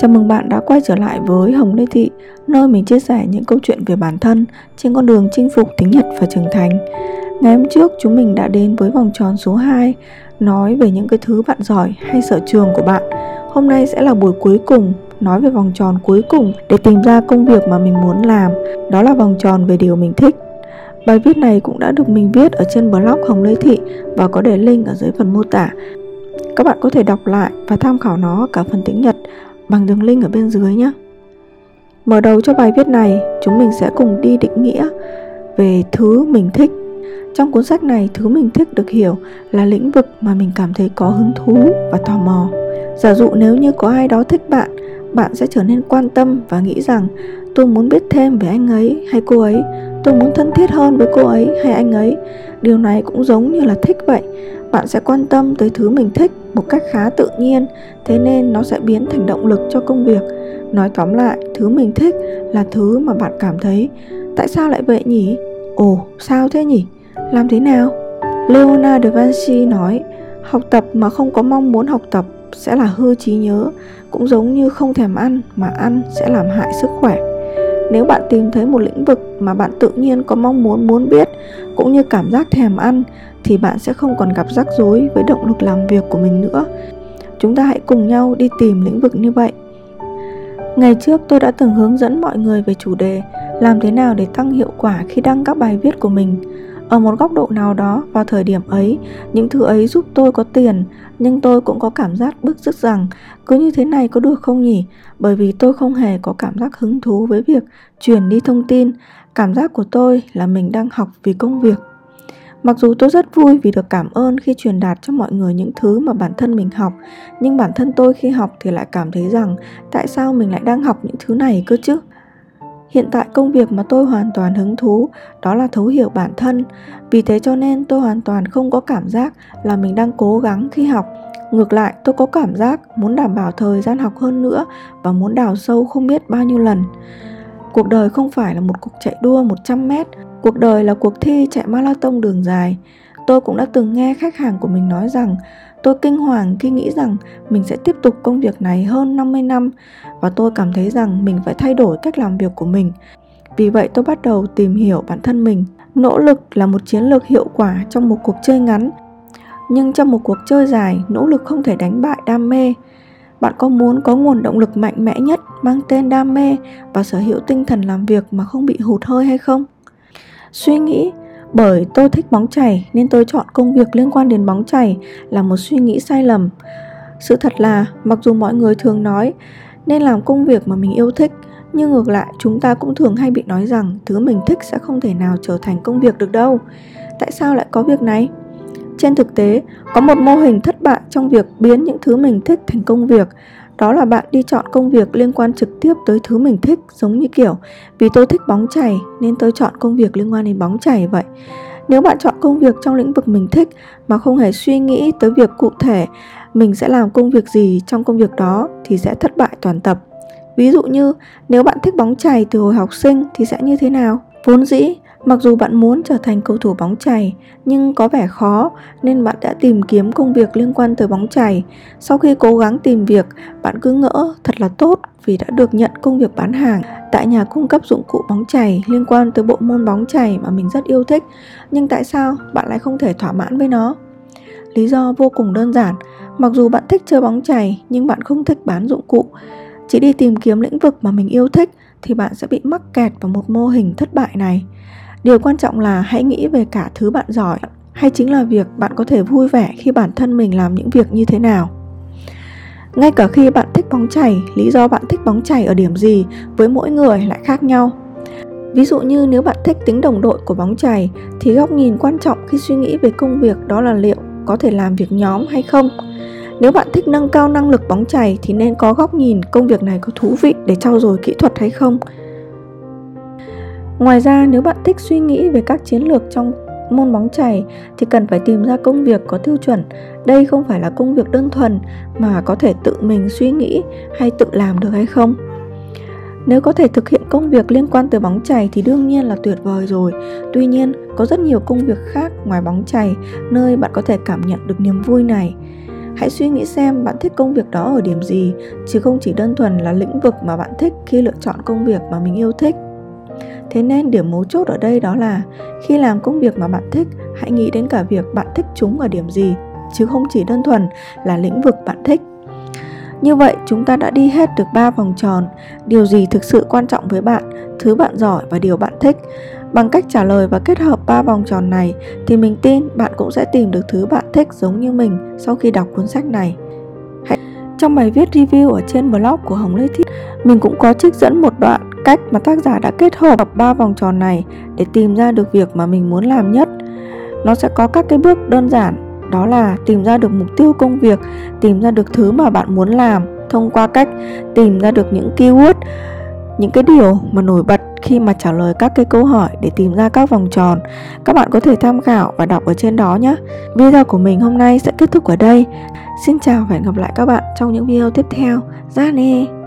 Chào mừng bạn đã quay trở lại với Hồng Lê Thị, nơi mình chia sẻ những câu chuyện về bản thân trên con đường chinh phục tiếng Nhật và trưởng thành. Ngày hôm trước chúng mình đã đến với vòng tròn số 2, nói về những cái thứ bạn giỏi hay sở trường của bạn. Hôm nay sẽ là buổi cuối cùng, nói về vòng tròn cuối cùng để tìm ra công việc mà mình muốn làm. Đó là vòng tròn về điều mình thích. Bài viết này cũng đã được mình viết ở trên blog Hồng Lê Thị và có để link ở dưới phần mô tả. Các bạn có thể đọc lại và tham khảo nó cả phần tiếng Nhật bằng đường link ở bên dưới nhé. Mở đầu cho bài viết này, chúng mình sẽ cùng đi định nghĩa về thứ mình thích. Trong cuốn sách này, thứ mình thích được hiểu là lĩnh vực mà mình cảm thấy có hứng thú và tò mò. Giả dụ nếu như có ai đó thích bạn, bạn sẽ trở nên quan tâm và nghĩ rằng tôi muốn biết thêm về anh ấy hay cô ấy, tôi muốn thân thiết hơn với cô ấy hay anh ấy. Điều này cũng giống như là thích vậy. Bạn sẽ quan tâm tới thứ mình thích một cách khá tự nhiên, thế nên nó sẽ biến thành động lực cho công việc. Nói tóm lại, thứ mình thích là thứ mà bạn cảm thấy tại sao lại vậy nhỉ? Ồ, sao thế nhỉ? Làm thế nào? Leonardo da Vinci nói, học tập mà không có mong muốn học tập sẽ là hư trí nhớ, cũng giống như không thèm ăn mà ăn sẽ làm hại sức khỏe. Nếu bạn tìm thấy một lĩnh vực mà bạn tự nhiên có mong muốn biết, cũng như cảm giác thèm ăn, thì bạn sẽ không còn gặp rắc rối với động lực làm việc của mình nữa. Chúng ta hãy cùng nhau đi tìm lĩnh vực như vậy. Ngày trước tôi đã từng hướng dẫn mọi người về chủ đề làm thế nào để tăng hiệu quả khi đăng các bài viết của mình. Ở một góc độ nào đó, vào thời điểm ấy, những thứ ấy giúp tôi có tiền, nhưng tôi cũng có cảm giác bứt rứt rằng cứ như thế này có được không nhỉ? Bởi vì tôi không hề có cảm giác hứng thú với việc truyền đi thông tin. Cảm giác của tôi là mình đang học vì công việc. Mặc dù tôi rất vui vì được cảm ơn khi truyền đạt cho mọi người những thứ mà bản thân mình học, nhưng bản thân tôi khi học thì lại cảm thấy rằng tại sao mình lại đang học những thứ này cơ chứ? Hiện tại công việc mà tôi hoàn toàn hứng thú đó là thấu hiểu bản thân. Vì thế cho nên tôi hoàn toàn không có cảm giác là mình đang cố gắng khi học. Ngược lại, tôi có cảm giác muốn đảm bảo thời gian học hơn nữa và muốn đào sâu không biết bao nhiêu lần. Cuộc đời không phải là một cuộc chạy đua 100 mét. Cuộc đời là cuộc thi chạy marathon đường dài. Tôi cũng đã từng nghe khách hàng của mình nói rằng tôi kinh hoàng khi nghĩ rằng mình sẽ tiếp tục công việc này hơn 50 năm và tôi cảm thấy rằng mình phải thay đổi cách làm việc của mình. Vì vậy tôi bắt đầu tìm hiểu bản thân mình. Nỗ lực là một chiến lược hiệu quả trong một cuộc chơi ngắn, nhưng trong một cuộc chơi dài, nỗ lực không thể đánh bại đam mê. Bạn có muốn có nguồn động lực mạnh mẽ nhất mang tên đam mê và sở hữu tinh thần làm việc mà không bị hụt hơi hay không? Suy nghĩ bởi tôi thích bóng chày nên tôi chọn công việc liên quan đến bóng chày là một suy nghĩ sai lầm. Sự thật là mặc dù mọi người thường nói nên làm công việc mà mình yêu thích, nhưng ngược lại chúng ta cũng thường hay bị nói rằng thứ mình thích sẽ không thể nào trở thành công việc được đâu. Tại sao lại có việc này? Trên thực tế, có một mô hình thất bại trong việc biến những thứ mình thích thành công việc. Đó là bạn đi chọn công việc liên quan trực tiếp tới thứ mình thích, giống như kiểu vì tôi thích bóng chày nên tôi chọn công việc liên quan đến bóng chày vậy. Nếu bạn chọn công việc trong lĩnh vực mình thích mà không hề suy nghĩ tới việc cụ thể mình sẽ làm công việc gì trong công việc đó thì sẽ thất bại toàn tập. Ví dụ như nếu bạn thích bóng chày từ hồi học sinh thì sẽ như thế nào? Vốn dĩ, mặc dù bạn muốn trở thành cầu thủ bóng chày nhưng có vẻ khó nên bạn đã tìm kiếm công việc liên quan tới bóng chày. Sau khi cố gắng tìm việc, bạn cứ ngỡ thật là tốt vì đã được nhận công việc bán hàng tại nhà cung cấp dụng cụ bóng chày liên quan tới bộ môn bóng chày mà mình rất yêu thích. Nhưng tại sao bạn lại không thể thỏa mãn với nó? Lý do vô cùng đơn giản. Mặc dù bạn thích chơi bóng chày nhưng bạn không thích bán dụng cụ. Chỉ đi tìm kiếm lĩnh vực mà mình yêu thích thì bạn sẽ bị mắc kẹt vào một mô hình thất bại này. Điều quan trọng là hãy nghĩ về cả thứ bạn giỏi, hay chính là việc bạn có thể vui vẻ khi bản thân mình làm những việc như thế nào. Ngay cả khi bạn thích bóng chày, lý do bạn thích bóng chày ở điểm gì với mỗi người lại khác nhau. Ví dụ như nếu bạn thích tính đồng đội của bóng chày thì góc nhìn quan trọng khi suy nghĩ về công việc đó là liệu có thể làm việc nhóm hay không. Nếu bạn thích nâng cao năng lực bóng chày thì nên có góc nhìn công việc này có thú vị để trau dồi kỹ thuật hay không. Ngoài ra, nếu bạn thích suy nghĩ về các chiến lược trong môn bóng chày thì cần phải tìm ra công việc có tiêu chuẩn. Đây không phải là công việc đơn thuần mà có thể tự mình suy nghĩ hay tự làm được hay không. Nếu có thể thực hiện công việc liên quan tới bóng chày thì đương nhiên là tuyệt vời rồi. Tuy nhiên, có rất nhiều công việc khác ngoài bóng chày nơi bạn có thể cảm nhận được niềm vui này. Hãy suy nghĩ xem bạn thích công việc đó ở điểm gì, chứ không chỉ đơn thuần là lĩnh vực mà bạn thích khi lựa chọn công việc mà mình yêu thích. Thế nên điểm mấu chốt ở đây đó là khi làm công việc mà bạn thích, hãy nghĩ đến cả việc bạn thích chúng ở điểm gì, chứ không chỉ đơn thuần là lĩnh vực bạn thích. Như vậy chúng ta đã đi hết được 3 vòng tròn, điều gì thực sự quan trọng với bạn, thứ bạn giỏi và điều bạn thích. Bằng cách trả lời và kết hợp 3 vòng tròn này thì mình tin bạn cũng sẽ tìm được thứ bạn thích giống như mình sau khi đọc cuốn sách này. Trong bài viết review ở trên blog của Hồng Lê Thiết, mình cũng có trích dẫn một đoạn cách mà tác giả đã kết hợp 3 vòng tròn này để tìm ra được việc mà mình muốn làm nhất. Nó sẽ có các cái bước đơn giản, đó là tìm ra được mục tiêu công việc, tìm ra được thứ mà bạn muốn làm thông qua cách tìm ra được những keyword, những cái điều mà nổi bật khi mà trả lời các cái câu hỏi để tìm ra các vòng tròn. Các bạn có thể tham khảo và đọc ở trên đó nhé. Video của mình hôm nay sẽ kết thúc ở đây. Xin chào và hẹn gặp lại các bạn trong những video tiếp theo. Ra nè!